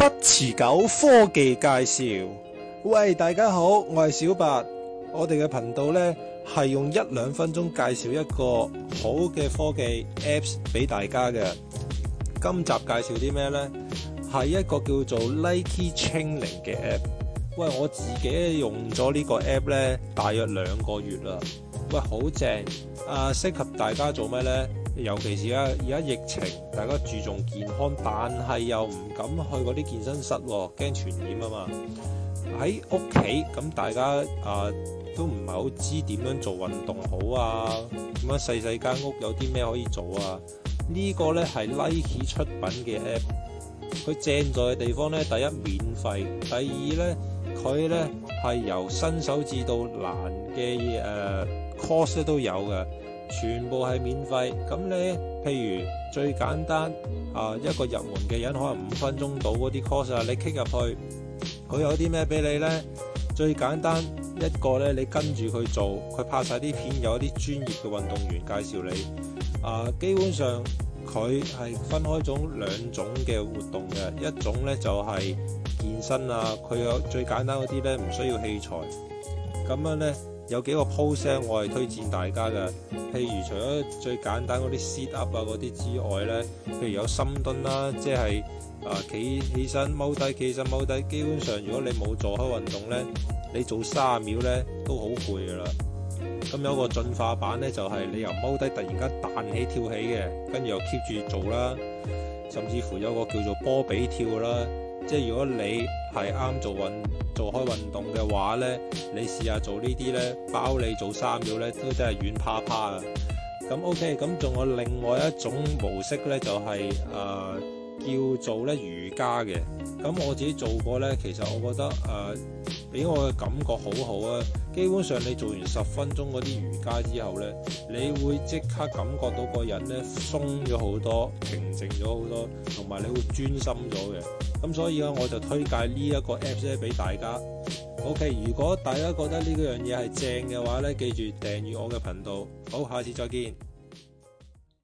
不持久科技介紹。喂，大家好，我係小白。我哋嘅頻道呢係用1-2分鐘介紹一個好嘅科技 Apps 俾大家嘅。今集介紹啲咩呢？係一個叫做 Nike Training 嘅 App。喂，我自己用咗呢個 App 呢，大約2個月啦。喂，好正啊！適合大家做咩呢？尤其是而家疫情，大家注重健康，但係又唔敢去嗰啲健身室喎，驚傳染啊嘛。喺屋企咁，大家都唔係好知點樣做運動好啊。咁樣細間屋有啲咩可以做啊？呢個呢係 Nike 出品嘅 App， 佢正在嘅地方呢，第一免費，第二呢，佢呢係由新手至到難嘅course 都有嘅。全部係免費，咁你譬如最簡單一個入門嘅人可能5分鐘到嗰啲 course 你 click 入去，佢有啲咩俾你呢？最簡單一個呢，你跟住佢做，佢拍晒啲片，有一啲專業嘅運動員介紹你。基本上佢係分開2種嘅活動嘅，一種呢就係健身啊，佢有最簡單嗰啲呢，唔需要器材，咁樣呢。有幾個 post 我係推薦大家嘅，譬如除咗最簡單嗰啲 sit up 嗰啲之外呢，譬如有深蹲啦，即係企起身踎低，企起身踎低，基本上如果你冇做開運動呢，你做30秒呢都好攰噶啦。咁有個進化版呢，就係你由踎低突然間彈起跳起嘅，跟住又 keep 住做啦，甚至乎有個叫做波比跳啦。即係如果你係啱做開運動嘅話呢，你試下做呢啲呢，包你做3秒呢都真係軟趴趴啊！咁 OK， 咁仲有另外一種模式呢，就係叫做呢瑜伽嘅。咁我自己做過呢，其實我覺得俾我嘅感覺好好啊！基本上你做完10分鐘嗰啲瑜伽之後呢，你會即刻感覺到個人呢鬆咗好多，平靜咗好多，同埋你會專心咗嘅。咁所以咧，我就推介呢一個 Apps 咧俾大家。OK， 如果大家覺得呢樣嘢係正嘅話呢，記住訂閱我嘅頻道。好，下次再見。